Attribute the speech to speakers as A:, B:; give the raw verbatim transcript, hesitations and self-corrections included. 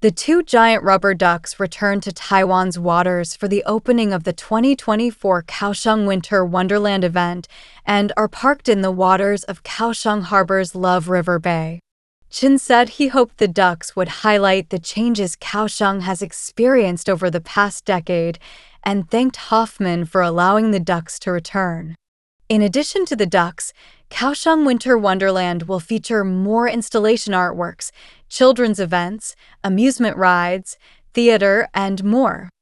A: The two giant rubber ducks returned to Taiwan's waters for the opening of the twenty twenty-four Kaohsiung Winter Wonderland event and are parked in the waters of Kaohsiung Harbor's Love River Bay. Chen said he hoped the ducks would highlight the changes Kaohsiung has experienced over the past decade and thanked Hoffman for allowing the ducks to return. In addition to the ducks, Kaohsiung Winter Wonderland will feature more installation artworks, children's events, amusement rides, theater, and more.